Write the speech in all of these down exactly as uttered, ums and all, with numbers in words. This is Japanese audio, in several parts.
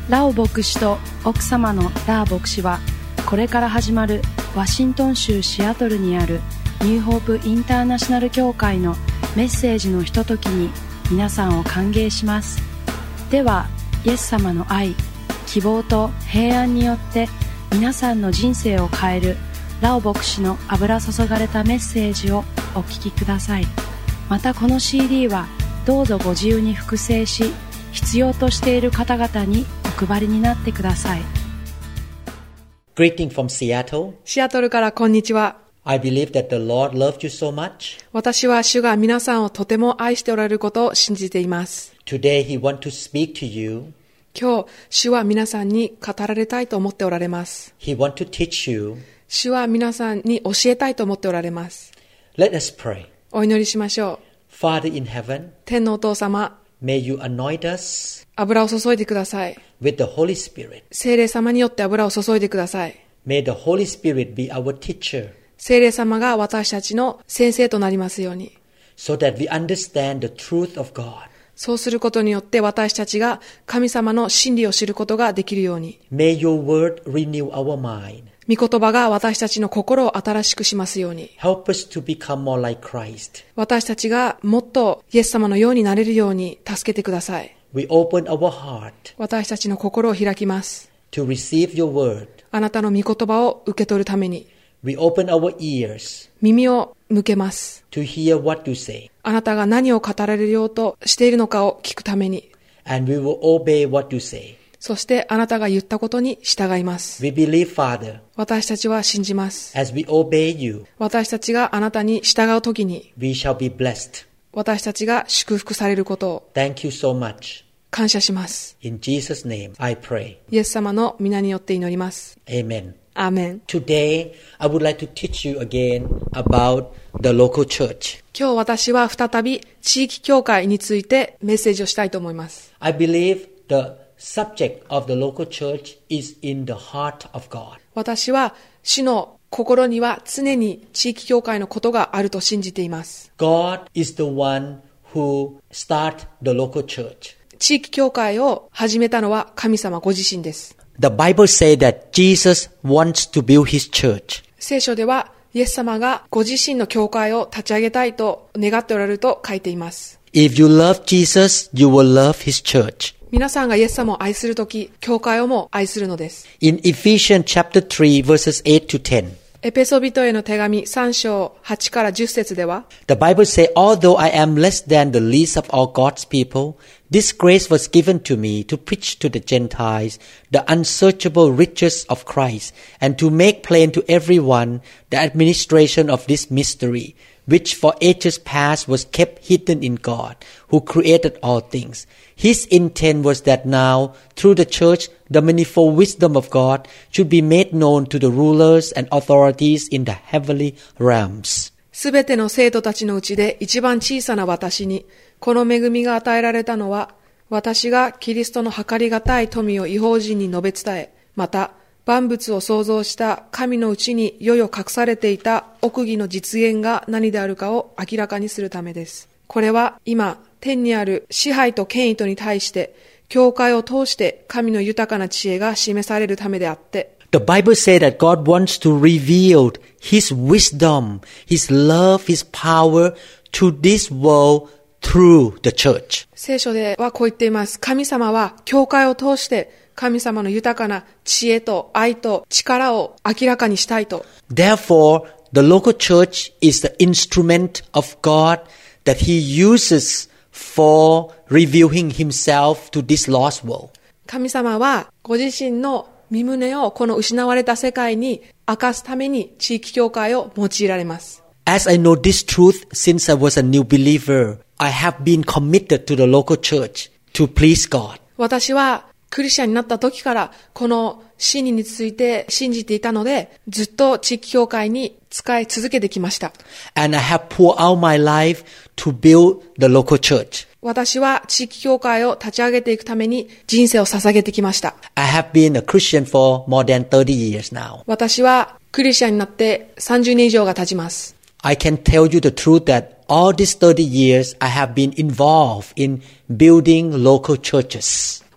ラオ牧師と奥様のラー牧師は、これから始まるワシントン州シアトルにあるニューホープインターナショナル教会のメッセージのひとときに皆さんを歓迎します。では、イエス様の愛、希望と平安によって皆さんの人生を変えるラオ牧師の油注がれたメッセージをお聞きください。またこの シーディー はどうぞご自由に複製し、必要としている方々にお配りになってください。 Greeting from Seattle. シアトルからこんにちは。 I believe that the Lord loved you so much. 私は主が皆さんをとても愛しておられることを信じています。 Today He wants to speak to you. 今日、主は皆さんに語られたいと思っておられます。 He wants to teach you. 主は皆さんに教えたいと思っておられます。 Let us pray. お祈りしましょう。 Father in heaven, 天のお父様、 may you anoint us 油を注いでください。 with the Holy Spirit. 聖霊様によって油を注いでください。 May the Holy Spirit be our teacher. 聖霊様が私たちの先生となりますように。 So that we understand the truth of God. そうすることによって私たちが神様の真理を知ることができるように。 May your word renew our mind. 御言葉が私たちの心を新しくしますように。 Help us to become more like Christ. 私たちがもっとイエス様のようになれるように助けてください。 We open our heart 私たちの心を開きます。 to receive your word. あなたの御言葉を受け取るために。 We open our ears 耳を向けます。 to hear what you say. あなたが何を語られようとしているのかを聞くために。 And we will obey what you say. そしてあなたが言ったことに従います。 We believe, Father, 私たちは信じます。 as we obey you, 私たちがあなたに従うときに、 we shall be blessed. 私たちが祝福されることを Thank you so much. 感謝します。 In Jesus' name, I pray. イエス様の皆によって祈ります。 Amen. アーメン。 Today, I would like to teach you again about the local church. 今日私は再び地域教会についてメッセージをしたいと思います。 I believe the subject of the local church is in the heart of God. 私は主の心には常に地域教会のことがあると信じています。 God is the one who started the local church. 地域教会を始めたのは神様ご自身です。 The Bible says that Jesus wants to build his church. 聖書ではイエス様がご自身の教会を立ち上げたいと願っておられると書いています。 If you love Jesus, you will love his church. 皆さんがイエス様を愛するとき、教会をも愛するのです。 In Ephesians chapter three, verses eight to ten, エペソビトへの手紙さん章はちからじゅっ節では、 the Bible says, although I am less than the least of all God's people, this grace was given to me to preach to the Gentiles the unsearchable riches of Christ, and to make plain to everyone the administration of this mystery, which for ages past was kept hidden in God, who created all things. His intent was that now, through the church, the manifold wisdom of God should be made known to the rulers and authorities in the heavenly realms. すべての生徒たちのうちで一番小さな私に、この恵みが与えられたのは、私がキリストの計りがたい富を異邦人に述べ伝え、また、万物を創造した神のうちに世々隠されていた奥義の実現が何であるかを明らかにするためです。これは今、天にある支配と権威とに対して、教会を通して神の豊かな知恵が示されるためであって、 The Bible says that God wants to reveal His wisdom, His love, His power to this world through the church. 聖書ではこう言っています。神様は教会を通して神様の豊かな知恵と愛と力を明らかにしたいと。 Therefore, the local church is the instrument of God that He uses for revealing Himself to this lost world. 神様はご自身の身胸をこの失われた世界に明かすために地域教会を用いられます。 As I know this truth since I was a new believer, I have been committed to the local church to please God. 私はクリスチャンになった時からこの真理について信じていたので、ずっと地域教会に使い続けてきました。 And I have poured out my life to build the local church. 私は地域教会を立ち上げていくために人生を捧げてきました。 I have been a Christian for more than thirty years now. 私はクリスチャンになってさんじゅうねん以上が経ちます。 I can tell you the truth that all these thirty years I have been involved in building local churches.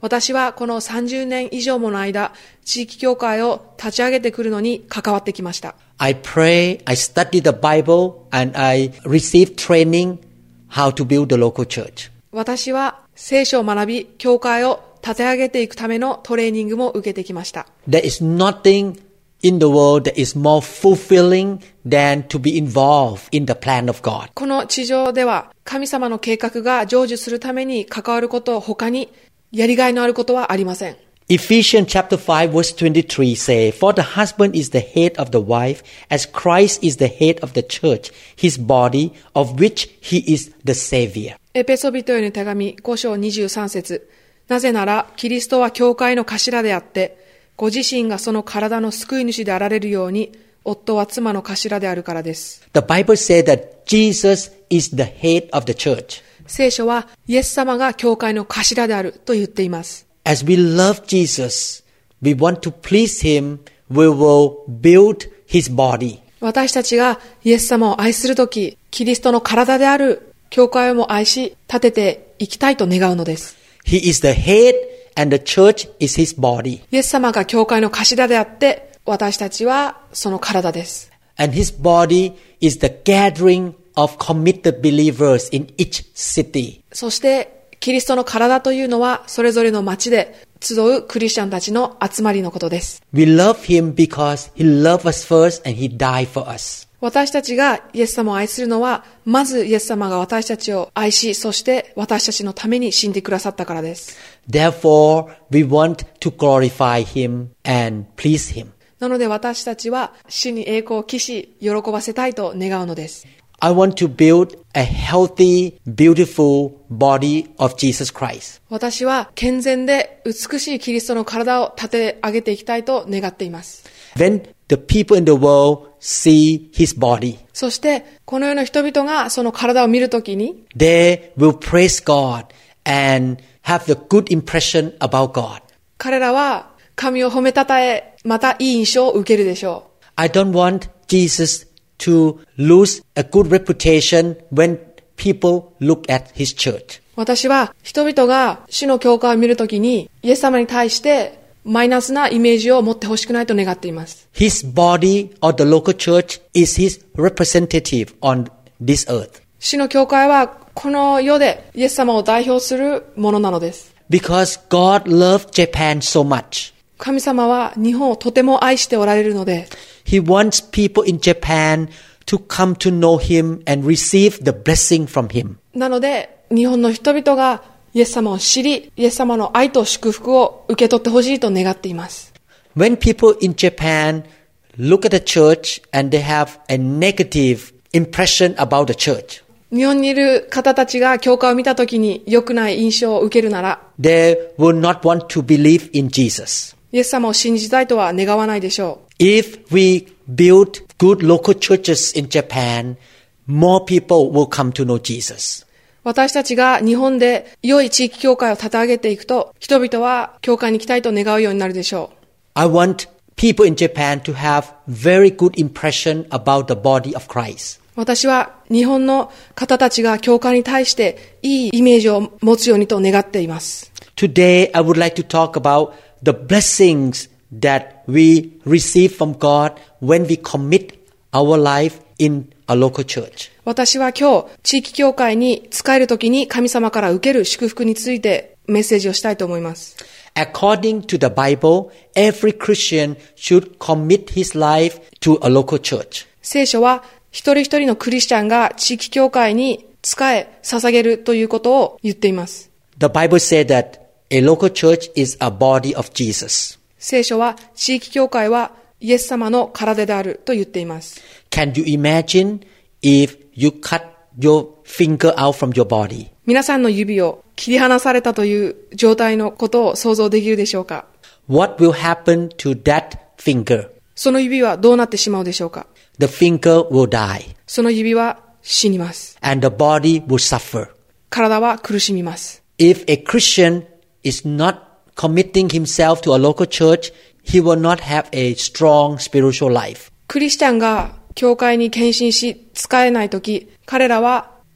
私はこのさんじゅうねん以上もの間、地域教会を立ち上げてくるのに関わってきました。 I pray, I study the Bible, and I receive training how to build the local church. 私は聖書を学び、教会を立て上げていくためのトレーニングも受けてきました。 There is nothing in the world that is more fulfilling than to be involved in the plan of God. この地上では神様の計画が成就するために関わること他にやりがいのあることはありません。 Ephesians chapter five verse twenty-three say, For the husband is the head of the wife, as Christ is the head of the church, his body, of which he is the Savior. エペソビトへの手紙ご章にじゅうさん節。なぜなら、キリストは教会の頭であって、ご自身がその体の救い主であられるように、夫は妻の頭であるからです。 The Bible says that Jesus is the head of the church. 聖書は、イエス様が教会の頭であると言っています。 As we love Jesus, we want to please him, we will build his body. 私たちがイエス様を愛するとき、キリストの体である教会をも愛し、立てていきたいと願うのです。 He is the head and the church is his body. イエス様が教会の頭であって、私たちはその体です。 And his body is the gathering of committed believers in each city. そして、キリストの体というのは、それぞれの町で集うクリスチャンたちの集まりのことです。 We love him because he loved us first and he died for us. 私たちがイエス様を愛するのは、まずイエス様が私たちを愛し、そして私たちのために死んでくださったからです。 Therefore, we want to glorify him and please him. なので私たちは主に栄光を期し、喜ばせたいと願うのです。 I want to build a healthy, beautiful body of Jesus Christ. 私は健全で美しいキリストの体を立て上げていきたいと願っています。 When the people in the world see his body, そしてこの世の人々がその体を見るときに、 they will praise God and have the good impression about God. 彼らは神を褒めたたえ、またいい印象を受けるでしょう。 I don't want Jesus to lose a good reputation when people look at his church. 私は人々が主の教会を見るときにイエス様に対してマイナスなイメージを持ってほしくないと願っています。 His body or the local church is his representative on this earth. 主の教会はこの世でイエス様を代表するものなのです。 Because God loved Japan so much. 神様は日本をとても愛しておられるので、 He wants people in Japan to come to know him and receive the blessing from him. なので、日本の人々がイエス様を知り、イエス様の愛と祝福を受け取ってほしいと願っています。 When people in Japan look at the church and they have a negative impression about the church, 日本にいる方たちが教会を見たときに良くない印象を受けるなら、 they will not want to believe in Jesus. イエス様を信じたいとは願わないでしょう。 If we build good local churches in Japan, more people will come to know Jesus. 私たちが日本で良い地域教会を立て上げていくと、人々は教会に来たいと願うようになるでしょう。 I want people in Japan to have very good impression about the body of Christ. 私は日本の方たちが教会に対していいイメージを持つようにと願っています。 Today, I would like to talk about the blessings that we receive from God when we commit our life in a local church. 私は今日、地域教会に仕えるときに神様から受ける祝福についてメッセージをしたいと思います。 According to the Bible, every Christian should commit his life to a local church. 聖書は一人一人のクリスチャンが地域教会に仕え、捧げるということを言っています。 The Bible says that a local church is a body of Jesus. 聖書は地域教会はイエス様の体であると言っています。 Can you imagine if you cut your finger out from your body? 皆さんの指を切り離されたという状態のことを想像できるでしょうか？ What will happen to that finger? その指はどうなってしまうでしょうか？ The finger will die. その指は死にます。 And the body will suffer. 体は苦しみます。 If a Christian is not committing himself to a local church, he will not have a strong spiritual life. クリスチャンが教会に献身し、仕えないとき、彼らは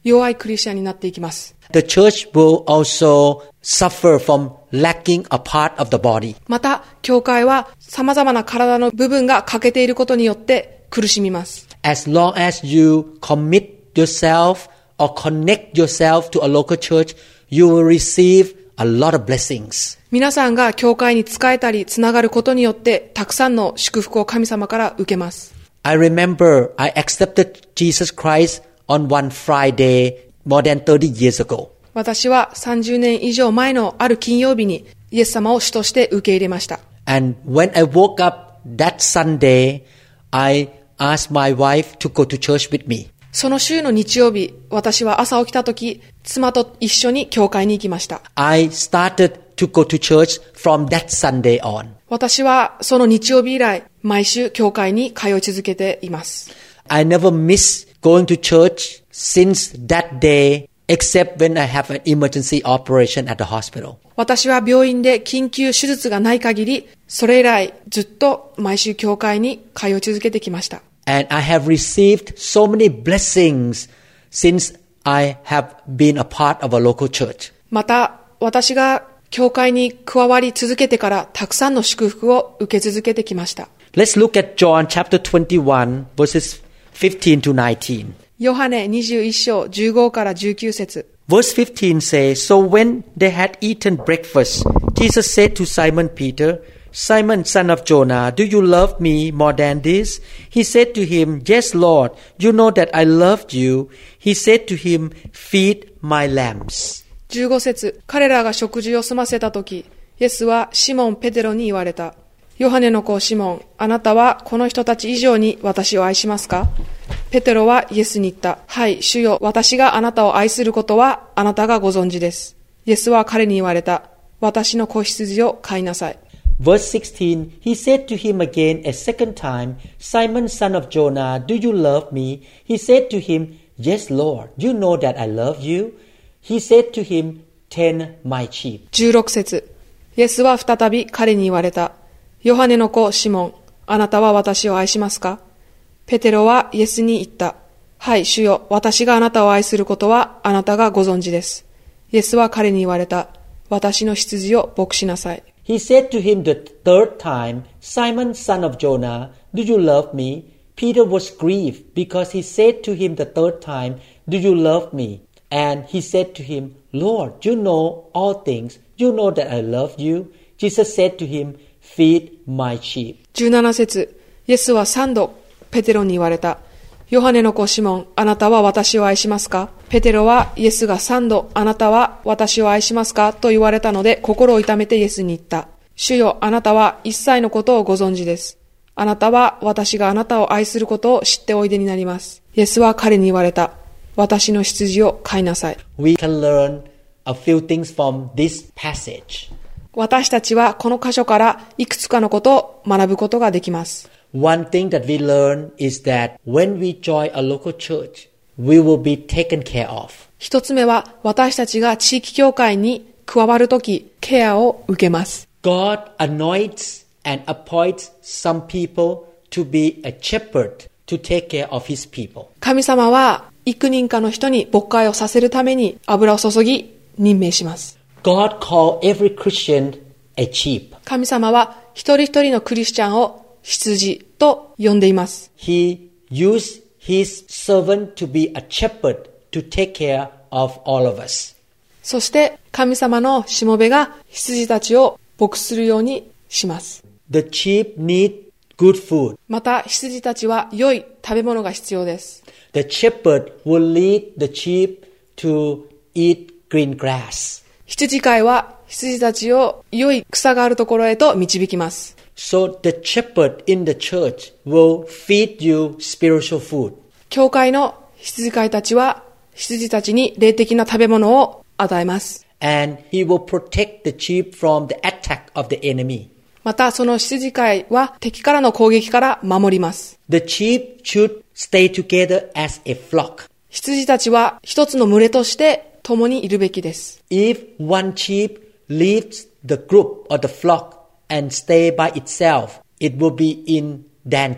弱いクリスチャンになっていきます。 The church will also suffer from lacking a part of the body. また、教会は様々な体の部分が欠けていることによって苦しみます。 As long as you commit yourself or connect yourself to a local church, you will receive a lot of blessings. 皆さんが教会に仕えたりつながることによってたくさんの祝福を神様から受けます。 I remember I accepted Jesus Christ on one Friday more than thirty years ago. 私はさんじゅうねん以上前のある金曜日にイエス様を主として受け入れました。 And when I woke up that Sunday, I asked my wife to go to church with me. その週の日曜日、私は朝起きたとき、妻と一緒に教会に行きました。 I started to go to church from that Sunday on. 私はその日曜日以来、毎週教会に通い続けています。 I never miss going to church since that day, except when I have an emergency operation at the hospital. 私は病院で緊急手術がない限り、それ以来ずっと毎週教会に通い続けてきました。 And I have received so many blessings since I have been a part of a local church. また、私が教会に加わり続けてからたくさんの祝福を受け続けてきました。 Let's look at John chapter twenty-one, verses fifteen to nineteen. ヨハネにじゅういっ章じゅうごからじゅうきゅう節。 Verse fifteen says, So when they had eaten breakfast, Jesus said to Simon Peter, Simon, son of Jonah, do you love me more than this? He said to him, Yes, Lord, you know that I loved you. He said to him, Feed my lambs. じゅうご節。彼らが食事を済ませたとき、イエスはシモン・ペテロに言われた。ヨハネの子シモン、あなたはこの人たち以上に私を愛しますか？ペテロはイエスに言った。はい、主よ、私があなたを愛することはあなたがご存知です。イエスは彼に言われた。私の子羊を飼いなさい。 Verse sixteen, he said to him again a second time, Simon, son of Jonah, do you love me? He said to him, Yes, Lord, you know that I love you. He said to him, Tend my sheep. じゅうろく節。イエスは再び彼に言われた。ヨハネの子シモン、あなたは私を愛しますか？ペテロはイエスに言った。はい、主よ、私があなたを愛することはあなたがご存知です。イエスは彼に言われた。私の羊を牧しなさい。 He said to him the third time, Simon, son of Jonah, do you love me? Peter was grieved because he said to him the third time, Do you love me? And he said to him, Lord, you know all things. You know that I love you. Jesus said to him, Feed my sheep. じゅうなな節。イエスは三度ペテロに言われた。ヨハネの子シモン、あなたは私を愛しますか？ペテロはイエスが三度、あなたは私を愛しますか？と言われたので、心を痛めてイエスに言った。主よ、あなたは一切のことをご存知です。あなたは私があなたを愛することを知っておいでになります。イエスは彼に言われた。私の羊を飼いなさい。 We can learn a few things from this passage. 私たちはこの箇所からいくつかのことを学ぶことができます。 One thing that we learn is that when we join a local church, we will be taken care of. 一つ目は私たちが地域教会に加わるとき、ケアを受けます。 God anoints and appoints some people to be a shepherd to take care of his people. 神様は幾人かの人に牧会をさせるために油を注ぎ任命します。 God called every Christian a sheep. 神様は一人一人のクリスチャンを羊と呼んでいます。 He used his servant to be a shepherd to take care of all of us. そして神様のしもべが羊たちを牧するようにします。 The sheep need good food. また羊たちは良い食べ物が必要です。 The shepherd will lead the sheep to eat green grass. 羊飼いは羊たちを良い草があるところへと導きます。 So the shepherd in the church will feed you spiritual food. 教会の羊飼いたちは羊たちに霊的な食べ物を与えます。 And he will protect the sheep from the attack of the enemy. またその羊飼いは敵からの攻撃から守ります。 The sheep should stay together as a flock. 羊たちは一つの群れとして共にいるべきです。 If one sheep leaves the group or the flock and stay by itself, it will be in danger.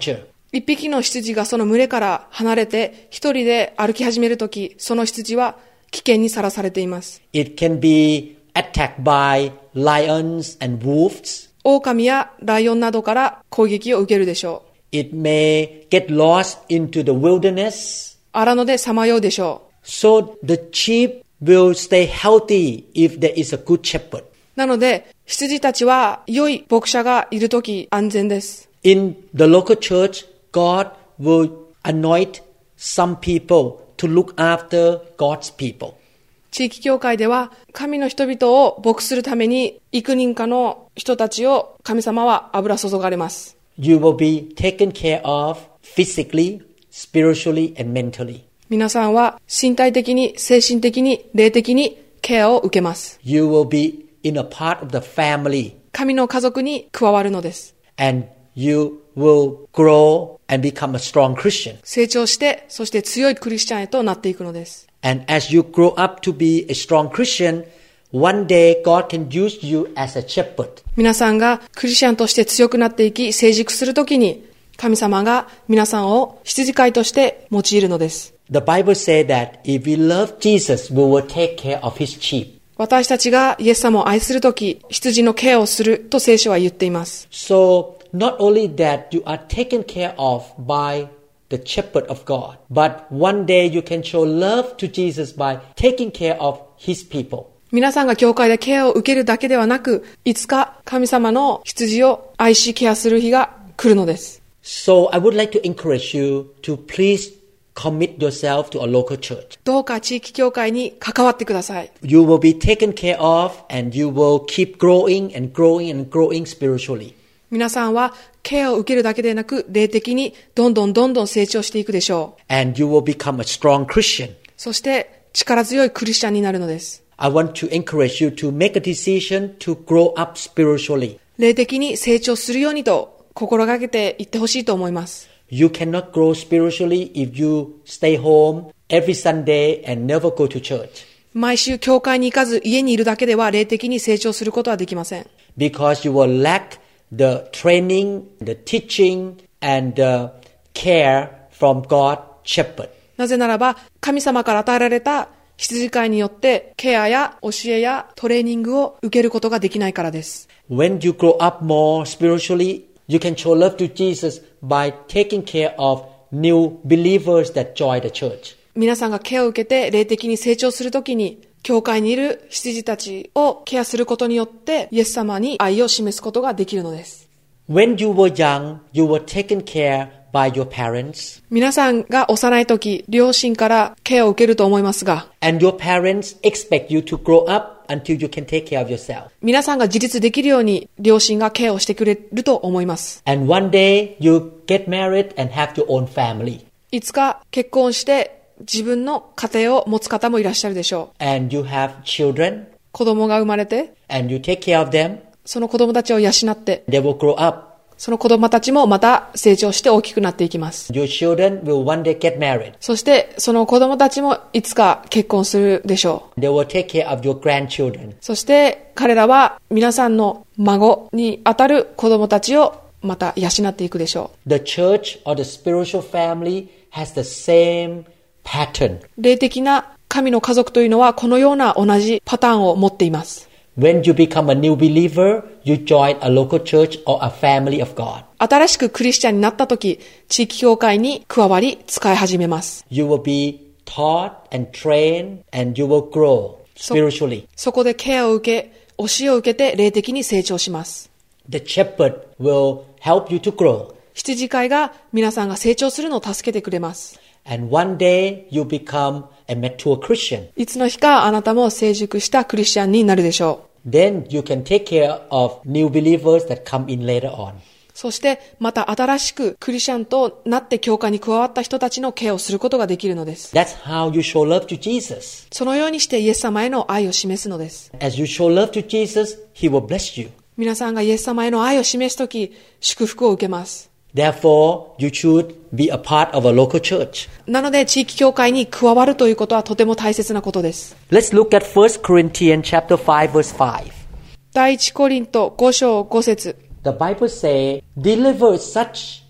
一匹の羊がその群れから離れて一人で歩き始めるとき、その羊は危険にさらされています。 It can be attacked by lions and wolves. 狼やライオンなどから攻撃を受けるでしょう。 It may get lost into the wilderness. 荒野でさまようでしょう。 So the sheep will stay healthy if there is a good shepherd. なので、羊たちは良い牧者がいるとき安全です。 In the local church, God will anoint some people to look after God's people. 地域教会では神の人々を牧するために幾人かの人たちを神様は油注がれます。 You will be taken care of physically, spiritually, and mentally. 皆さんは身体的に、精神的に、霊的にケアを受けます。 You will be in a part of the family. 神の家族に加わるのです。 And you will grow and become a strong Christian. 成長して、そして強いクリスチャンへとなっていくのです。 And as you grow up to be a strong Christian, one day God can use you as a shepherd. 皆さんがクリスチャンとして強くなっていき、成熟するときに、神様が皆さんを羊飼いとして用いるのです。 The Bible says that if we love Jesus, we will take care of his sheep. 私たちがイエス様を愛するとき、羊のケアをすると聖書は言っています。 So, not only that you are taken care of by the shepherd of God, but one day you can show love to Jesus by taking care of his people. 皆さんが教会でケアを受けるだけではなく、いつか神様の羊を愛しケアする日が来るのです。 So, I would like to encourage you to please commit yourself to a local church. どうか地域教会に関わってください。 You will be taken care of and you will keep growing and growing and growing spiritually. 皆さんはケアを受けるだけでなく、霊的にどんどんどんどん成長していくでしょう。 And you will become a strong Christian. そして力強いクリスチャンになるのです。 I want to encourage you to make a decision to grow up spiritually. 霊的に成長するようにと心がけていってほしいと思います。 You cannot grow spiritually if you stay home every Sunday and never go to church. 毎週教会に行かず家にいるだけでは霊的に成長することはできません。 Because you will lack the training, the teaching, and the care from God's shepherd. なぜならば、神様から与えられた羊飼いによってケアや教えやトレーニングを受けることができないからです。 When you grow up more spiritually, you can show love to Jesus by taking care of new believers that join the church. 皆さんがケアを受けて霊的に成長するときに、教会にいる羊たちをケアすることによって、イエス様に愛を示すことができるのです。 When you were young, you were taken care by your parents. 皆さんが幼いとき、両親からケアを受けると思いますが、 And your parents expect you to grow up until you can take care of yourself. 皆さんが自立できるように両親がケアをしてくれると思います。 And one day you get married and have your own family. いつか結婚して自分の家庭を持つ方もいらっしゃるでしょう。 And you have children. 子供が生まれて、 And you take care of them. その子供たちを養って、 They will grow up. その子供たちもまた成長して大きくなっていきます。 Your children will one day get married. そしてその子供たちもいつか結婚するでしょう。 They will take care of your grandchildren. そして彼らは皆さんの孫にあたる子供たちをまた養っていくでしょう。 The church or the spiritual family has the same pattern. 霊的な神の家族というのはこのような同じパターンを持っています。 When you become a new believer, you join a local church or a family of God. 新しくクリスチャンになったとき、地域教会に加わり使い始めます。 You will be taught and trained and you will grow spiritually. そ、そこでケアを受け、教えを受けて霊的に成長します。 The shepherd will help you to grow. 羊飼いが皆さんが成長するのを助けてくれます。 And one day you become a mature Christian. いつの日かあなたも成熟したクリスチャンになるでしょう。 Then you can take care of new believers that come in later on. そしてまた新しくクリスチャンとなって教会に加わった人たちのケアをすることができるのです。 That's how you show love to Jesus. そのようにしてイエス様への愛を示すのです。 As you show love to Jesus, He will bless you. 皆さんがイエス様への愛を示すとき、祝福を受けます。 Therefore, you should be a part of a local church. なので地域教会に加わるということはとても大切なことです。 Let's look at First Corinthians chapter five verse five. 第一コリントご章ご節。 The Bible says, deliver such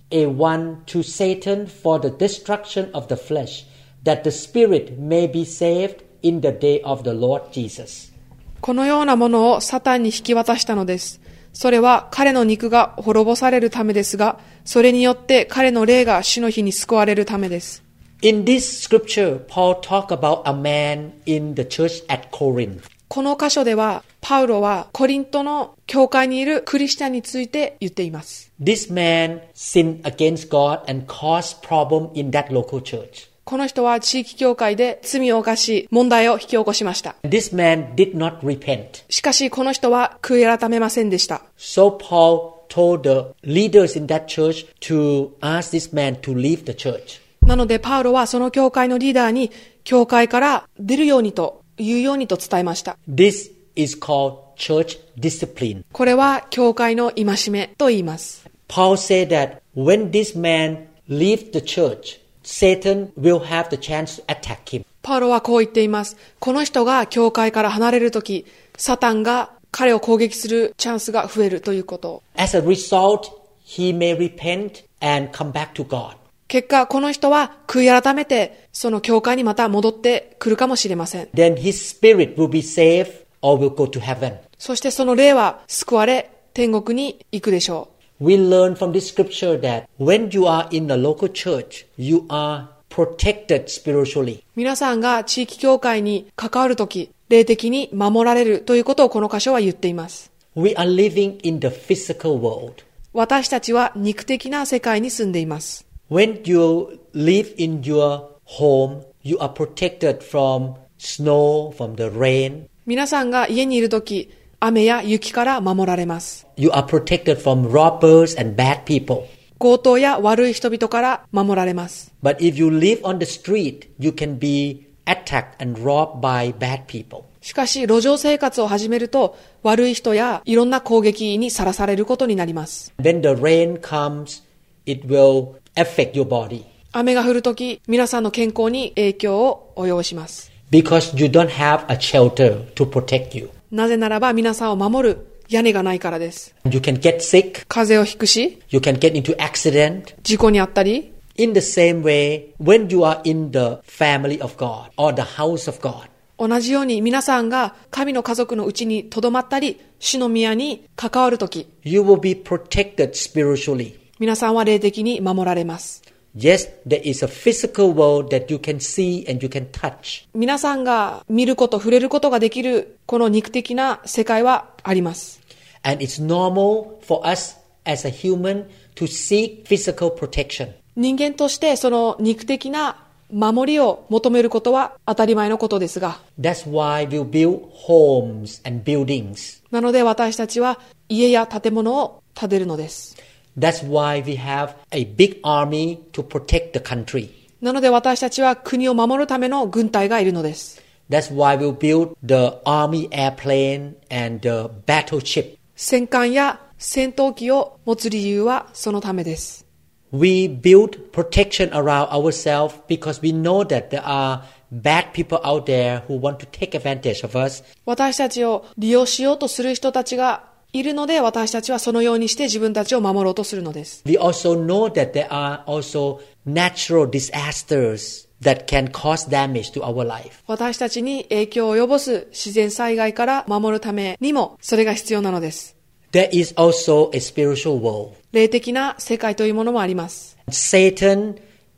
a one to Satan for the destruction of the flesh, that the spirit may be saved in the day of the Lord Jesus. このようなものをサタンに引き渡したのです。それは彼の肉が滅ぼされるためですが、それによって彼の霊が主の日に救われるためです。 In this scripture, Paul talked about a man in the church at Corinth. この箇所では、パウロはコリントの教会にいるクリスチャンについて言っています。 This man sinned against God and caused problem in that local church. この人は地域教会で罪を犯し、問題を引き起こしました。 This man did not repent. しかしこの人は悔い改めませんでした。 So Paul told the leaders in that church to ask this man to leave the church. なのでパウロはその教会のリーダーに教会から出るようにと言うようにと伝えました。 This is called church discipline. これは教会の戒めと言います。 Paul said that when this man leaves the church, Satan will have the chance to attack him. パウロはこう言っています。この人が教会から離れるとき、サタンが彼を攻撃するチャンスが増えるということ。 As a result, he may repent and come back to God. 結果、この人は悔い改めて、その教会にまた戻ってくるかもしれません。 Then his spirit will be saved or will go to heaven. そしてその霊は救われ、天国に行くでしょう。 We learn from this scripture that when you are in a local church, you are protected spiritually. 皆さんが地域教会に関わるとき、霊的に守られるということをこの箇所は言っています。 We are living in the physical world. 私たちは肉的な世界に住んでいます。 When you live in your home, you are protected from snow, from the rain. 皆さんが家にいるとき、雨や雪から守られます。 You are protected from robbers and bad people. 強盗や悪い人々から守られます。 But if you live on the street, you can be attacked and robbed by bad people. しかし、路上生活を始めると、悪い人やいろんな攻撃にさらされることになります。 When the rain comes, it will affect your body. 雨が降るとき、皆さんの健康に影響を及ぼします。 Because you don't have a shelter to protect you. なぜならば皆さんを守る屋根がないからです。 You can get sick. 風邪をひくし、 You can get into accident. 事故にあったり、 In the same way, when you are in the family of God or the house of God, 同じように皆さんが神の家族のうちに留まったり、主の宮に関わるとき、 you will be protected spiritually. 皆さんは霊的に守られます。 Yes, there is a physical world that you can see and you can touch. 皆さんが見ること、触れることができるこの肉的な世界はあります。 And it's normal for us as a human to seek physical protection. 人間としてその肉的な守りを求めることは当たり前のことですが、 That's why we build homes and buildings. なので私たちは家や建物を建てるのです。 That's why we have a big army to protect the country. なので私たちは国を守るための軍隊がいるのです。 That's why we build the army airplane and the battleship. 戦艦や戦闘機を持つ理由はそのためです。 We build protection around ourselves because we know that there are bad people out there who want to take advantage of us. 私たちを利用しようとする人たちがいるので、私たちはそのようにして自分たちを守ろうとするのです。 We also know that there are also natural disasters that can cause damage to our life. 私たちに影響を及ぼす自然災害から守るためにもそれが必要なのです。 There is also a spiritual world. 霊的な世界というものもあります。 Satan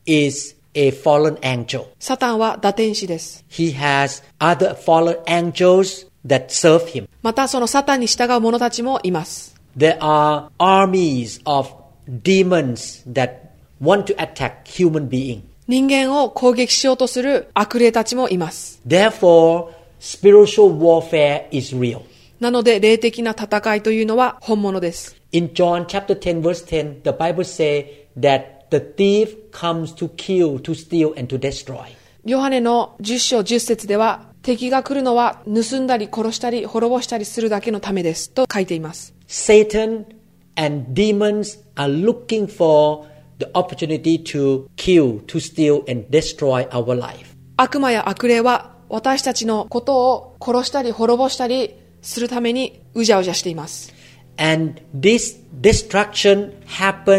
is a fallen angel. サタンは堕天使です。 He has other fallen angels that serve him. またそのサタンに従う者たちもいます。 There are armies of demons that want to attack human beings. 人間を攻撃しようとする悪霊たちもいます。 Therefore, spiritual warfare is real. なので霊的な戦いというのは本物です。 In John chapter ten verse ten, the Bible says that the thief comes to kill, to steal, and to destroy. ヨハネのじゅっ章じゅっ節では、敵が来るのは盗んだり殺したり滅ぼしたりするだけのためですと書いています。 Satan and demons are looking for the opportunity to kill, to steal, and destroy our life. 悪魔や悪霊は私たちのことを殺したり滅ぼしたりするためにうじゃうじゃしています。 And this destruction happened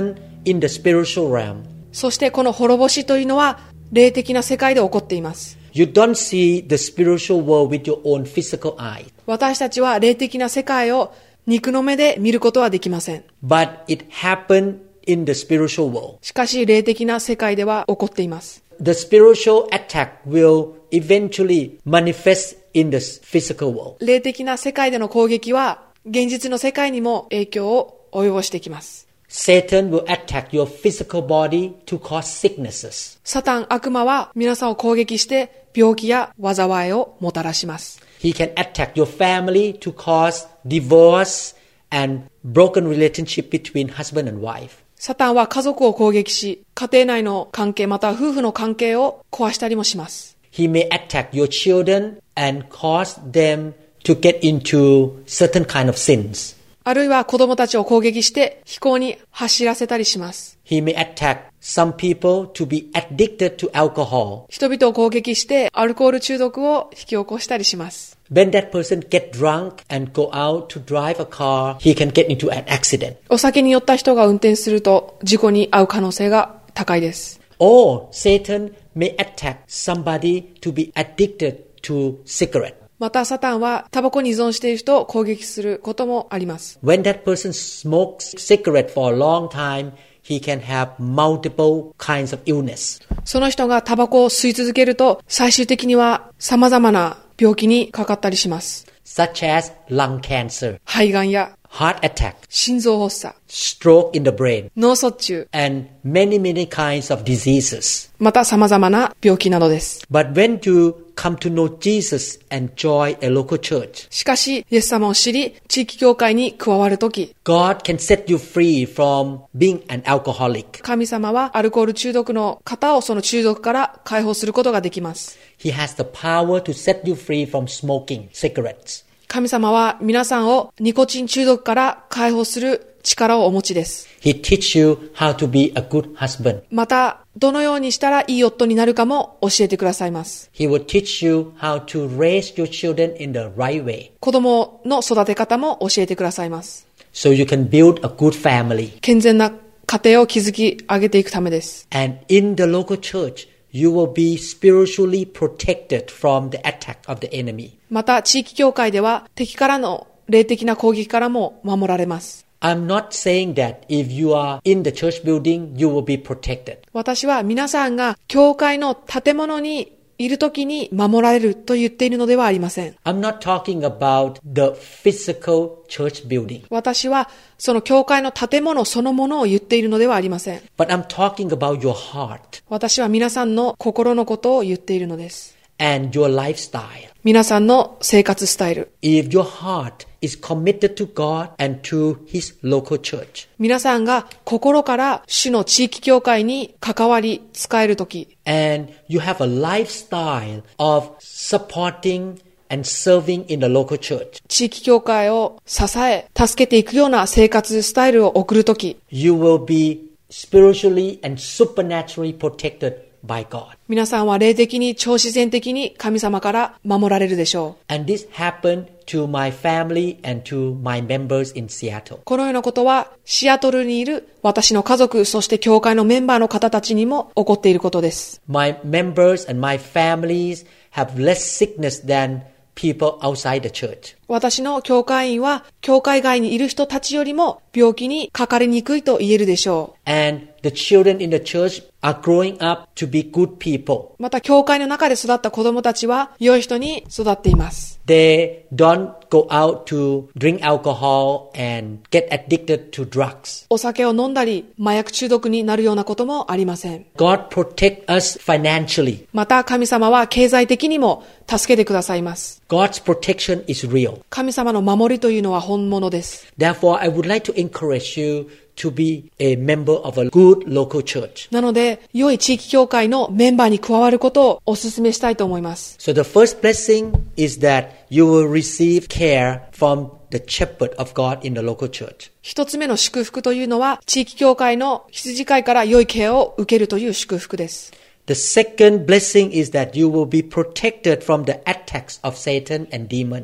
in the spiritual realm. そしてこの滅ぼしというのは霊的な世界で起こっています。 You don't see the spiritual world with your own physical eye. 私たちは霊的な世界を肉の目で見ることはできません。 But it happened in the spiritual world. しかし霊的な世界では起こっています。 The spiritual attack will eventually manifest in the physical world. 霊的な世界での攻撃は現実の世界にも影響を及ぼしてきます。 Satan will attack your physical body to cause sicknesses. サタン、悪魔は皆さんを攻撃して病気や災いをもたらします。 He can attack your family to cause divorce and broken relationship between husband and wife. サタンは家族を攻撃し、家庭内の関係または夫婦の関係を壊したりもします。 He may attack your children and cause them to get into certain kind of sins. あるいは子供たちを攻撃して非行に走らせたりします。 He may attack some people to be addicted to alcohol. 人々を攻撃してアルコール中毒を引き起こしたりします。 When that person get drunk and go out to drive a car, he can get into an accident. お酒に酔った人が運転すると事故に遭う可能性が高いです。 Or Satan may attack somebody to be addicted to cigarette. またサタンはタバコに依存している人を攻撃することもあります。 When that person smokes cigarette for a long time, he can have multiple kinds of illness. その人がタバコを吸い続けると最終的には様々な病気にかかったりします。 Such as lung cancer, 肺がんや heart attack, 心臓発作、 stroke in the brain, 脳卒中、 and many, many kinds of diseases. また様々な病気などです。 But when you come to know Jesus and join a local church, しかし、イエス様を知り、地域教会に加わるとき、 God can set you free from being an alcoholic. 神様はアルコール中毒の方をその中毒から解放することができます。 He has the power to set you free from smoking cigarettes. 神様は皆さんをニコチン中毒から解放する力をお持ちです。 He teach you how to be a good husband. また、どのようにしたらいい夫になるかも教えてくださいます。 He will teach you how to raise your children in the right way. 子供の育て方も教えてくださいます。 So you can build a good family. 健全な家庭を築き上げていくためです。 And in the local church, you will be spiritually protected from the attack of the enemy. また、地域教会では敵からの霊的な攻撃からも守られます。 I'm not saying that if you are in the church building, you will be protected. 私は皆さんが教会の建物にいるときに守られると言っているのではありません。 I'm not talking about the physical church building. 私はその教会の建物そのものを言っているのではありません。 But I'm talking about your heart. 私は皆さんの心のことを言っているのです。 And your lifestyle. 皆さんの生活スタイル。 If your heart is committed to God and to His local church. 皆さんが心から主の地域教会に関わり使えるとき。 And you have a lifestyle of supporting and serving in the local church. 地域教会を支え、助けていくような生活スタイルを送るとき。 You will be spiritually and supernaturally protected by God. 皆さんは霊的に超自然的に神様から守られるでしょう。 And this happened to my family and to my members in Seattle. このようなことはシアトルにいる私の家族、そして教会のメンバーの方たちにも起こっていることです。 My members and my families have less sickness than people outside the church. 私の教会員は教会外にいる人たちよりも病気にかかりにくいと言えるでしょう。 And the children in the church are growing up to be good people. また教会の中で育った子供たちは良い人に育っています。 They don't go out to drink alcohol and get addicted to drugs. お酒を飲んだり麻薬中毒になるようなこともありません。 God protect us financially. また神様は経済的にも助けてくださいます。 God's protection is real. 神様の守りというのは本物です。 Therefore, I would like to encourage you to be a member of a good local church. なので、良い地域教会のメンバーに加わることをお勧めしたいと思います。 So the first blessing is that you will receive care from the shepherd of God in the local church. 一つ目の祝福というのは、地域教会の羊飼いから良いケアを受けるという祝福です。 The second blessing is that you will be protected from the attacks of Satan and demons.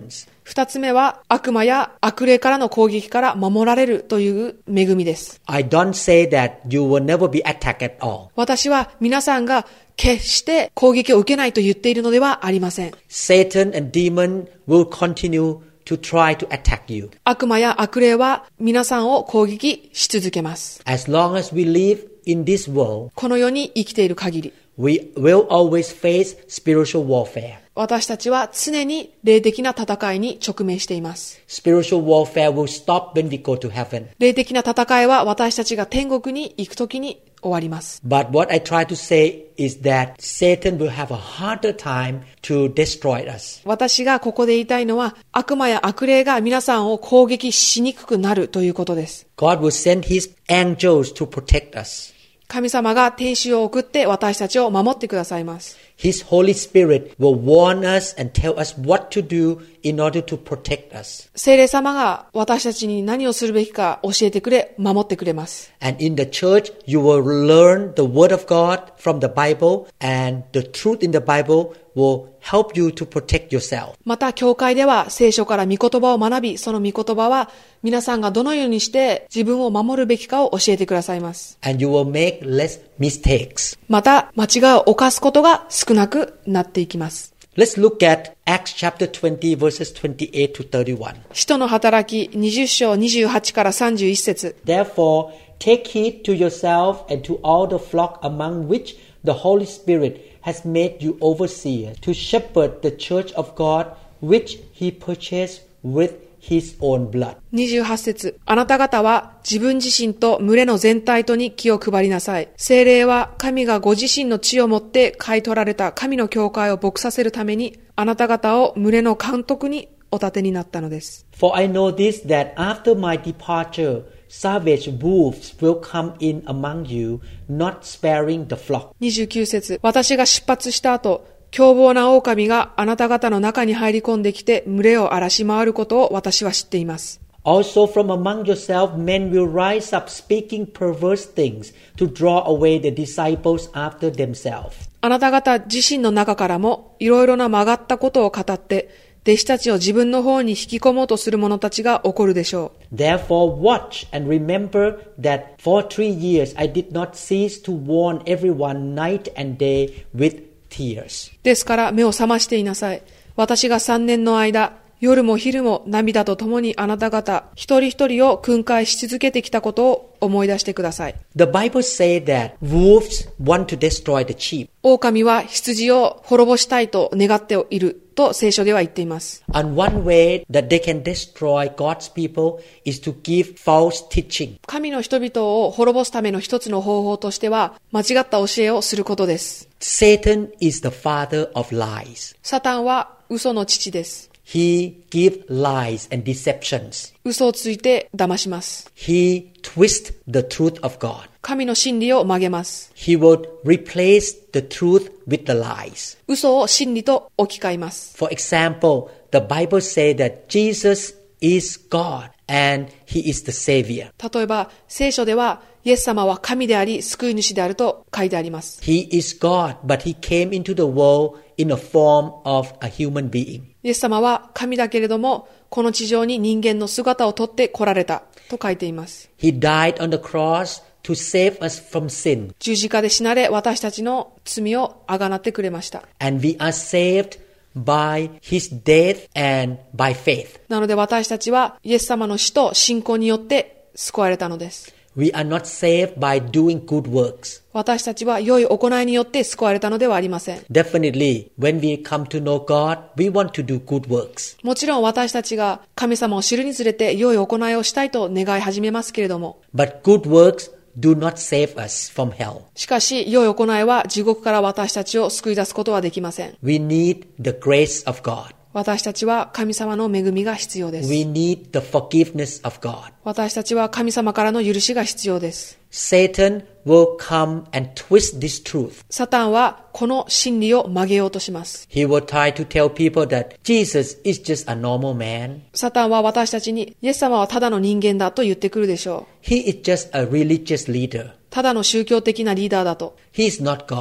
二つ目は悪魔や悪霊からの攻撃から守られるという恵みです。 I don't say that you will never be attacked at all. 私は皆さんが決して攻撃を受けないと言っているのではありません。 Satan and demon will continue to try to attack you. 悪魔や悪霊は皆さんを攻撃し続けます。 As long as we live in this world, この世に生きている限り、 we will always face spiritual warfare. 私たちは常に霊的な戦いに直面しています。 Spiritual warfare will stop when we go to heaven. 霊的な戦いは私たちが天国に行くときに終わります。 But what I try to say is that Satan will have a harder time to destroy us. 私がここで言いたいのは、悪魔や悪霊が皆さんを攻撃しにくくなるということです。 God will send His angels to protect us. 神様が天使を送って私たちを守ってくださいます。 His Holy Spirit will warn us and tell us what to do in order to protect us. 聖霊様が私たちに何をするべきか教えてくれ、守ってくれます。 And in the church, you will learn the Word of God from the Bible, and the truth in the Bible will help you to protect yourself. また、教会では聖書から御言葉を学び、その御言葉は皆さんがどのようにして自分を守るべきかを教えてくださいます。 And you will make less mistakes. また、間違いを犯すことが少なくなっていきます。 Let's look at Acts chapter twenty verses twenty-eight to thirty-one. 使徒の働きにじゅう章にじゅうはちからさんじゅういち節。 Therefore, take heed to yourself and to all the flock among which the Holy Spirit has made you overseers, to shepherd the church of God, which He purchased with His own blood. にじゅうはち節。あなた方は自分自身と群れの全体とに気を配りなさい。聖霊は神がご自身の血をもって買い取られた神の教会を牧させるために、あなた方を群れの監督にお立てになったのです。 For I know this, that after my departure, savage wolves will come in among you, not sparing the flock. にじゅうきゅう節。私が出発した後、凶暴な狼があなた方の中に入り込んできて群れを荒らし回ることを私は知っています。 Also from among yourself men will rise up speaking perverse things to draw away the disciples after themselves. あなた方自身の中からもいろいろな曲がったことを語って弟子たちを自分の方に引き込もうとする者たちが起こるでしょう。 Therefore watch and remember that for three years I did not cease to warn everyone night and day with tears. ですから目を覚ましていなさい。私が三年の間、夜も昼も涙とともにあなた方一人一人を訓戒し続けてきたことを思い出してください。 The Bible says that wolves want to destroy the sheep. 狼は羊を滅ぼしたいと願っていると聖書では言っています。 And one way that they can destroy God's people is to give false teaching. 神の人々を滅ぼすための一つの方法としては間違った教えをすることです。 Satan is the father of lies. サタンは嘘の父です。 He gives lies and deceptions. 嘘をついて騙します。 He twists the truth of God. 神の真理を曲げます。 He would replace the truth with the lies. 嘘を真理と置き換えます。 For example, the Bible says that Jesus is God and He is the Savior. 例えば、聖書ではイエス様は神であり救い主であると書いてあります。 He is God, but He came into the world in a form of a human being. イエス様は神だけれども、この地上に人間の姿をとって来られたと書いています。 He died on the cross to save us from sin. 十字架で死なれ、私たちの罪をあがなってくれました。 And we are saved by His death and by faith. なので私たちはイエス様の死と信仰によって救われたのです。 We are not saved by doing good works. 私たちは良い行いによって救われたのではありません。 Definitely, when we come to know God, we want to do good works. もちろん私たちが神様を知るにつれて良い行いをしたいと願い始めますけれども。 But good works do not save us from hell. しかし、良い行いは地獄から私たちを救い出すことはできません。 We need the grace of God. 私たちは神様の恵みが必要です。 We need the forgiveness of God. 私たちは神様からの許しが必要です。 Satan will come and twist this truth. サタンはこの真理を曲げようとします。 He will try to tell people that Jesus is just a normal man. サタンは私たちにイエス様はただの人間だと言ってくるでしょう。 He is just a religious leader. ただの宗教的なリーダーだと。 He is not God.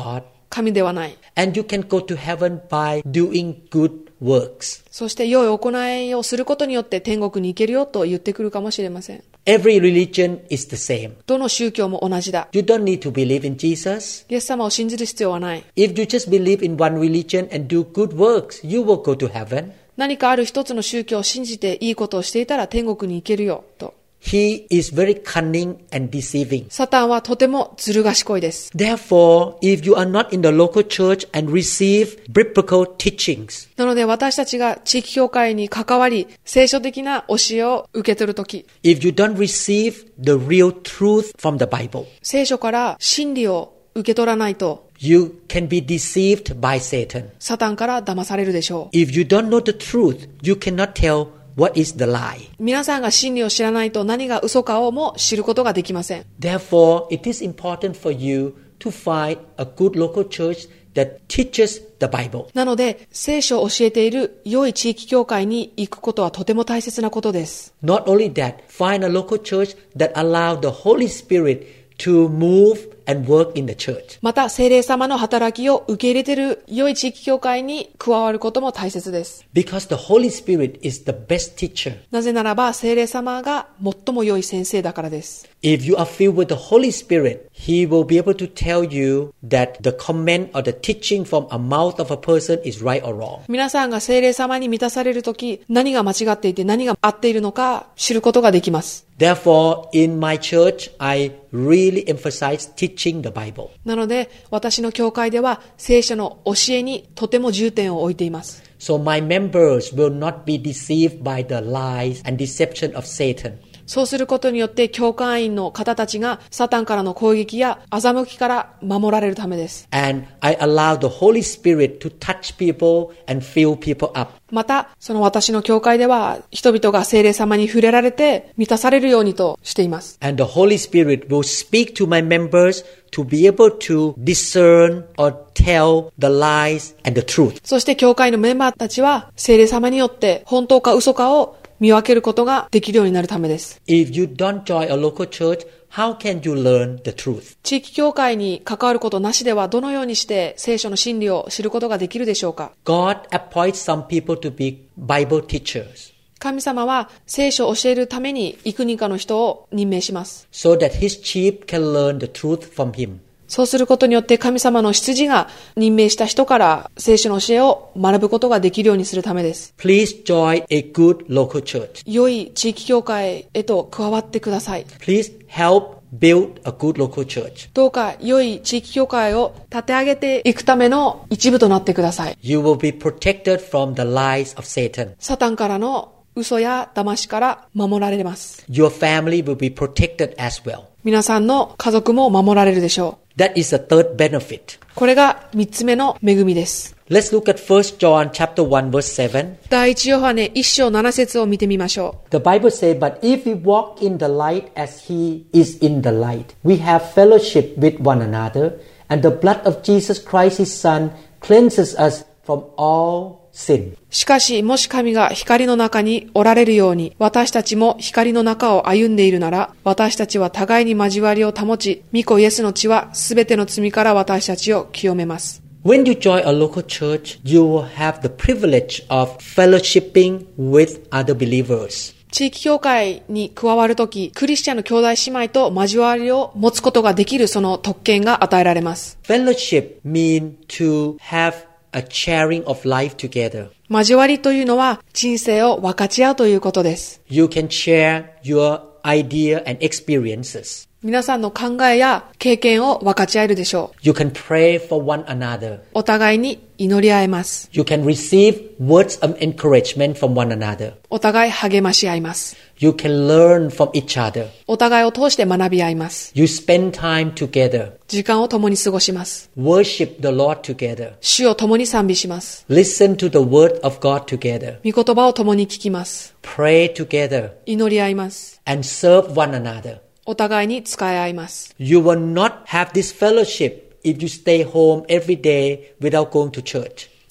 神ではない。 And you can go to heaven by doing good works. そして良い行いをすることによって天国に行けるよと言ってくるかもしれません。 Every religion is the same. どの宗教も同じだ。 You don't need to believe in Jesus. イエス様を信じる必要はない。 If you just believe in one religion and do good works, you will go to heaven. 何かある一つの宗教を信じていいことをしていたら天国に行けるよと。 He is very cunning and deceiving. サタンはとてもずる賢いです。 Therefore, if you are not in the local church and receive biblical teachings, なので私たちが地域教会に関わり、聖書的な教えを受け取るとき、 if you don't receive the real truth from the Bible, 聖書から真理を受け取らないと、 you can be deceived by Satan. サタンから騙されるでしょう。 If you don't know the truth, you cannot tell what is the lie. 皆さんが真理を知らないと何が嘘かをも知ることができません。 Therefore, it is important for you to find a good local church that teaches the Bible. なので、聖書を教えている良い地域教会に行くことはとても大切なことです。 Not only that, find a local church that allows the Holy Spirit to move and work in the church. また、聖霊様の働きを受け入れている良い地域教会に加わることも大切です。 Because the Holy Spirit is the best teacher. なぜならば、聖霊様が最も良い先生だからです。 If you are filled with the Holy Spirit, He will be able to tell you that the comment or the teaching from a mouth of a person is right or wrong. 皆さんが聖霊様に満たされるとき、何が間違っていて何が合っているのか知ることができます。 Therefore, in my church, I really emphasize teaching the Bible. なので、私の教会では聖書の教えにとても重点を置いています。 So my members will not be deceived by the lies and deception of Satan. そうすることによって教会員の方たちがサタンからの攻撃や欺きから守られるためです。 And I allow the Holy Spirit to touch people and fill people up. また、その私の教会では人々が聖霊様に触れられて満たされるようにとしています。 And the Holy Spirit will speak to my members to be able to discern or tell the lies and the truth. そして教会のメンバーたちは聖霊様によって本当か嘘かを見分けることができるようになるためです。 If you don't join a local church, how can you learn the truth? 地域教会に関わることなしではどのようにして聖書の真理を知ることができるでしょうか？ God appoints some people to be Bible teachers. 神様は聖書を教えるために幾人かの人を任命します。 So that his sheep can learn the truth from him. そうすることによって神様の羊が任命した人から聖書の教えを学ぶことができるようにするためです。 Please join a good local church. 良い地域教会へと加わってください。 Please help build a good local church. どうか良い地域教会を立て上げていくための一部となってください。 You will be protected from the lies of Satan. サタンからの嘘や騙しから守られます。 Your family will be protected as well. 皆さんの家族も守られるでしょう。 That is the third benefit. これが三つ目の恵みです。 Let's look at First John chapter one verse seven. 第一ヨハネ一章七節を見てみましょう。 The Bible says, "But if we walk in the light as He is in the light, we have fellowship with one another, and the blood of Jesus Christ, His Son, cleanses us from all sin." しかし、もし神が光の中におられるように、私たちも光の中を歩んでいるなら、私たちは互いに交わりを保ち、御子イエスの血はすべての罪から私たちを清めます。 When you join a local church, you will have the privilege of fellowshipping with other believers. 地域教会に加わるとき、クリスチャンの兄弟姉妹と交わりを持つことができるその特権が与えられます。 Fellowship means to have a sharing of life together. 交わりというのは人生を分かち合うということです。 You can share your idea and experiences. 皆さんの考えや経験を分かち合えるでしょう。 You can pray for one another. お互いに祈り合えます。 You can receive words of encouragement from one another. お互い励まし合います。 You can learn from each other. お互いを通して学び合います。 You spend time together. 時間を共に過ごします。 Worship the Lord together. 主を共に賛美します。 Listen to the word of God together. 御言葉を共に聞きます。 Pray together. 祈り合います。 And serve one another. お互いに仕え合います。 You will not have this fellowship if you stay home every day without going to church.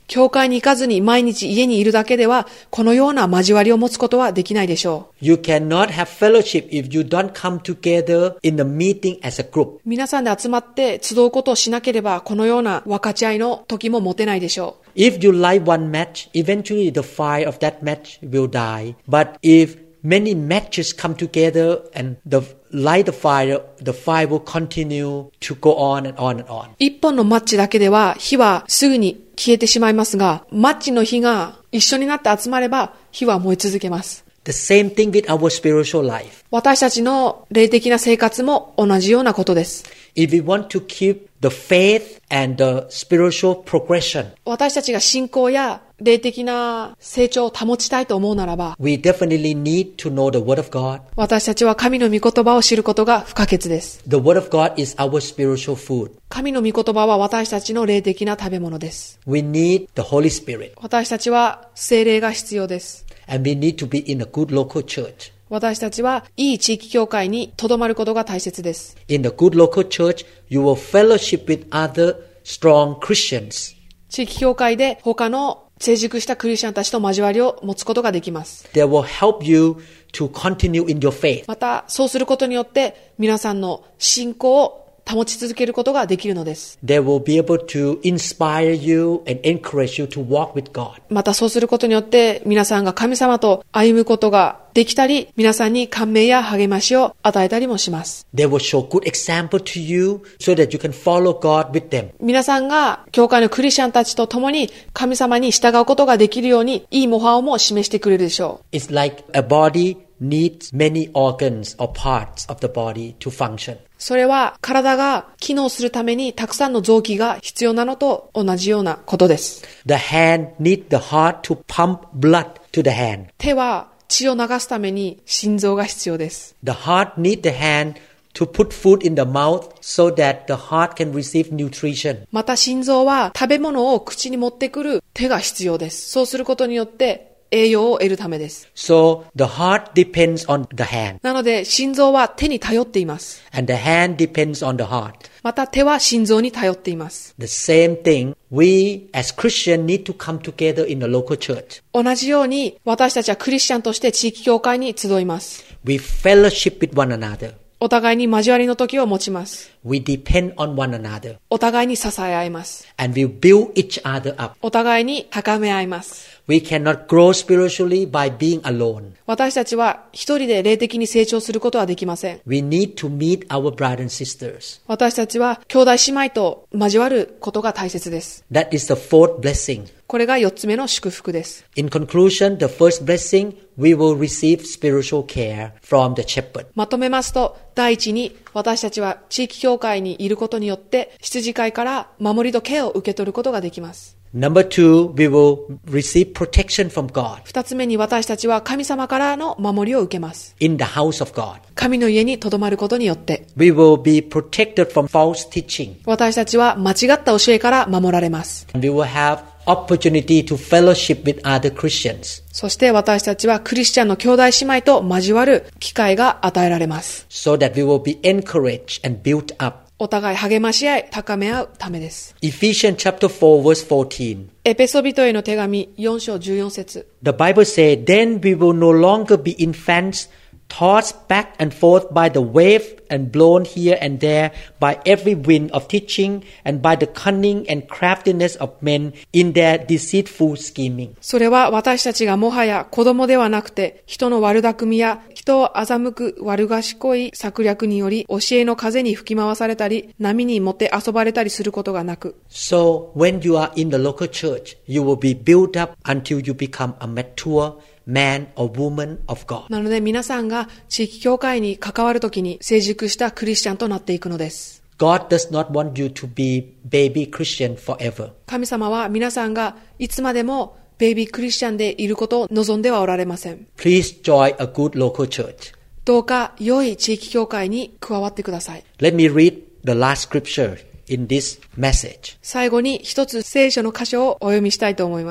教会に行かずに毎日家にいるだけでは、このような交わりを持つことはできないでしょう。 You cannot have fellowship if you don't come together in the meeting as a group. 皆さんで集まって集うことをしなければ、このような分かち合いの時も持てないでしょう。 If you light one match, eventually the fire of that match will die. But if many matches come together and the light the fire, the fire will continue to go on and on and on. 一本のマッチだけでは火はすぐに消えてしまいますが、マッチの火が一緒になって集まれば火は燃え続けます。 The same thing with our spiritual life. 私たちの霊的な生活も同じようなことです。 If we want to keep the faith and the spiritual progression, 私たちが信仰や霊的な成長を保ちたいと思うならば、 we definitely need to know the Word of God. 私たちは神の御言葉を知ることが不可欠です。 The Word of God is our spiritual food. 神の御言葉は私たちの霊的な食べ物です。 We need the Holy Spirit. 私たちは聖霊が必要です。 And we need to be in a good local church. 私たちはいい地域教会にとどまることが大切です。 In the good local church, you will fellowship with other strong Christians. 地域教会で他の成熟したクリスチャンたちと交わりを持つことができます。 They will help you to continue in your faith. また、そうすることによって皆さんの信仰を保ち続けることができるのです。 They will be able to inspire you and encourage you to walk with God. またそうすることによって皆さんが神様と歩むことができたり、皆さんに感銘や励ましを与えたりもします。 They will show good example to you so that you can follow God with them. 皆さんが教会のクリスチャンたちと共に神様に従うことができるようにいい模範をも示してくれるでしょう。 It's like a body needs many organs or parts of the body to function. それは体が機能するためにたくさんの臓器が必要なのと同じようなことです。 The hand needs the heart to pump blood to the hand. 手は血を流すために心臓が必要です。 The heart needs the hand to put food in the mouth so that the heart can receive nutrition. また心臓は食べ物を口に持ってくる手が必要です。そうすることによって栄養を得るためです。 So the heart depends on the hand. なので心臓は手に頼っています。 And the hand depends on the heart. また手は心臓に頼っています。 The same thing, we as Christians need to come together in the local church. 同じように私たちはクリスチャンとして地域教会に集います。 We fellowship with one another. お互いに交わりの時を持ちます。 We depend on one another. お互いに支え合います。 And we build each other up. お互いに高め合います。 We cannot grow spiritually by being alone. 私たちは一人で霊的に成長することはできません。 We need to meet our brothers and sisters. 私たちは兄弟姉妹と交わることが大切です。 That is the fourth blessing. これが四つ目の祝福です。 In conclusion, the first blessing, we will receive spiritual care from the shepherd. まとめますと、第一に私たちは地域教会にいることによって羊飼いから守りとケアを受け取ることができます。 Number two, we will receive protection from God. 二つ目に私たちは神様からの守りを受けます。 In the house of God. 神の家に留まることによって。 We will be protected from false teaching. 私たちは間違った教えから守られます。 And we will have opportunity to fellowship with other Christians. そして私たちはクリスチャンの兄弟姉妹と交わる機会が与えられます。 So that we will be encouraged and built up. お互い励まし合い、高め合うためです。 Ephesians chapter four verse fourteen. エペソビトへの手紙よん章じゅうよん節。 The Bible says, Then we will no longer be infants, tossed back and forth by the wave and blown here and there by every wind of teaching and by the cunning and craftiness of men in their deceitful scheming. それは私たちがもはや子供ではなくて、人の悪巧みや人を欺く悪賢い策略により教えの風に吹き回されたり、波にもて遊ばれたりすることがなく。 So when you are in the local church, you will be built up until you become a mature man or woman of God. なので皆さんが地域教会に関わるときに成熟したクリスチャンとなっていくのです。 God does not want you to be baby Christian forever. 神様は皆さんがいつまでもベイビークリスチャンでいることを望んではおられません。 Please join a good local church. どうか良い地域教会に加わってください。 Let me read the last scripture in this message. 最後に一つ聖書の箇所をお読みしたいと思います。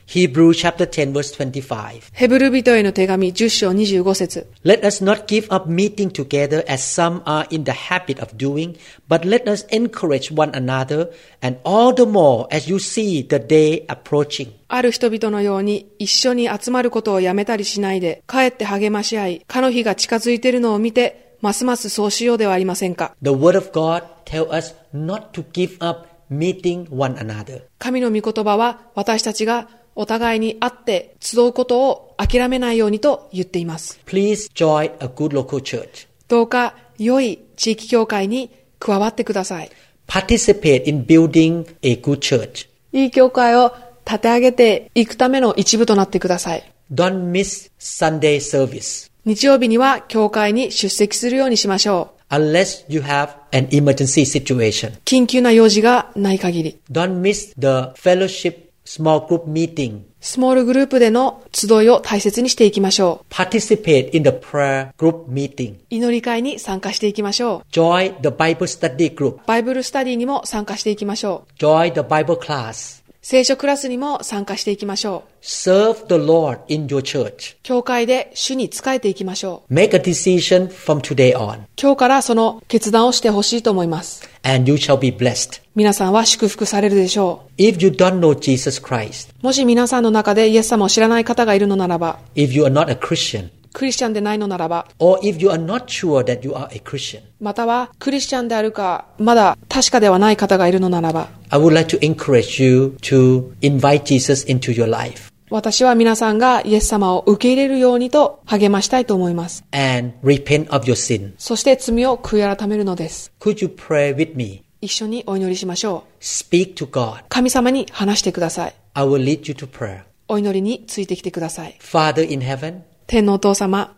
Hebrews chapter ten verse twenty-five. ヘブル人への手紙じゅっ章にじゅうご節。 Let us not give up meeting together as some are in the habit of doing, but let us encourage one another, and all the more as you see the day approaching. ある人々のように一緒に集まることをやめたりしないで、かえって励まし合い、かの日が近づいているのを見て、ますますそうしようではありませんか。 The word of God tells us not to give up meeting one another. 神の御言葉は私たちがお互いに会って集うことを諦めないようにと言っています。 Please join a good local church. どうか良い地域教会に加わってください。 Participate in building a good church. いい教会を立て上げていくための一部となってください。 Don't miss Sunday service. 日曜日には教会に出席するようにしましょう。 Unless you have an emergency situation. 緊急な用事がない限り。 Don't miss the fellowship small group meeting. スモールグループでの集いを大切にしていきましょう。 Participate in the prayer group meeting. 祈り会に参加していきましょう。 Join the Bible study group. バイブルスタディにも参加していきましょう。 Join the Bible class. 聖書クラスにも参加していきましょう。 Serve the Lord in your church. 教会で主に仕えていきましょう。 Make a decision from today on. 今日からその決断をしてほしいと思います。 And you shall be blessed. 皆さんは祝福されるでしょう。 If you don't know Jesus Christ. もし皆さんの中でイエス様を知らない方がいるのならば。 If you are not a Christian. クリスチャンでないのならば。 Or if you are not sure that you are a Christian. またはクリスチャンであるかまだ確かではない方がいるのならば。 I would like to encourage you to invite Jesus into your life. 私は皆さんがイエス様を受け入れるようにと励ましたいと思います。 And repent of your sin. そして罪を悔い改めるのです。 Could you pray with me? 一緒にお祈りしましょう。 Speak to God. 神様に話してください。 I will lead you to prayer. お祈りについてきてください。 Father in heaven. 天のお父様。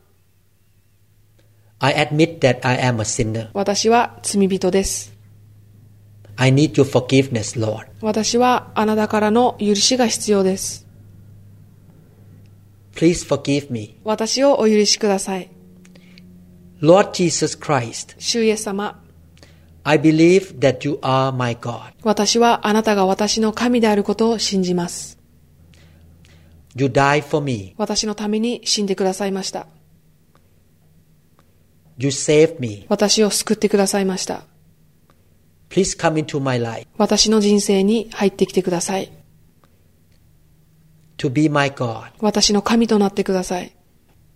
I admit that I am a sinner. 私は罪人です。 I need your forgiveness, Lord. 私はあなたからの許しが必要です。 Please forgive me. 私をお許しください。 Lord Jesus Christ. 主イエス様。 I believe that you are my God. 私はあなたが私の神であることを信じます。 You died for me. 私のために死んでくださいました。 You saved me. 私を救ってくださいました。 Please come into my life. 私の人生に入ってきてください。 To be my God. 私の神となってください。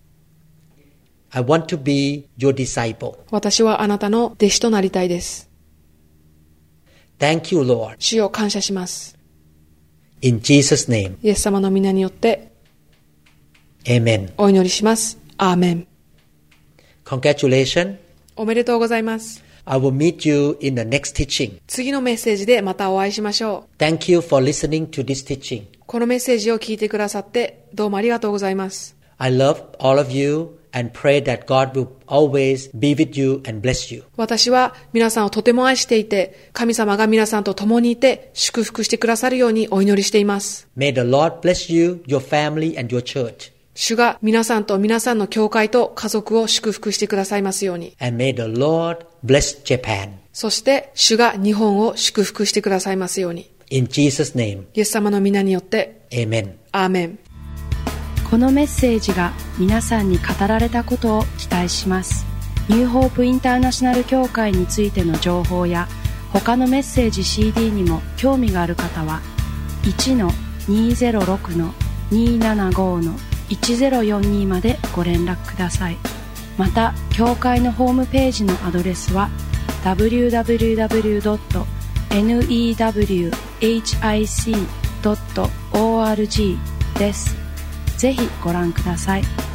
I want to be your disciple. 私はあなたの弟子となりたいです。 Thank you, Lord. 主を感謝します。 In Jesus' name. イエス様の皆によって Amen. お祈りします。アーメン。 Congratulations. おめでとうございます。 I will meet you in the next teaching. 次のメッセージでまたお会いしましょう。 Thank you for listening to this teaching. このメッセージを聞いてくださってどうもありがとうございます。 I love all of you and pray that God will always be with you and bless you. 私は皆さんをとても愛していて、神様が皆さんと共にいて祝福してくださるようにお祈りしています。 May the Lord bless you, your family and your church. 主が皆さんと皆さんの教会と家族を祝福してくださいますように。 And may the Lord bless Japan. そして主が日本を祝福してくださいますように。 In Jesus' name. イエス様の皆によって。 Amen. アーメン。 このメッセージが皆さんに語られたことを期待します。ニューホープインターナショナル協会についての情報や他のメッセージ シーディー にも興味がある方は いちのにーぜろろくのにーななごのいちぜろよんに までご連絡ください。また協会のホームページのアドレスは ダブリューダブリューダブリュードットニューホープドットオーアールジー です。ぜひご覧ください。